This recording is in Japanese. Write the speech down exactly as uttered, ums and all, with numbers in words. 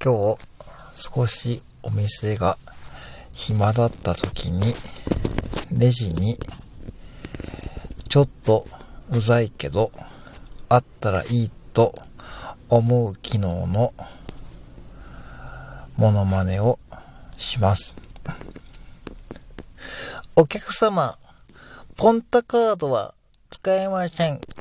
今日少しお店が暇だった時にレジにちょっとうざいけどあったらいいと思う機能のモノマネをします。お客様、ポンタカードは使えません。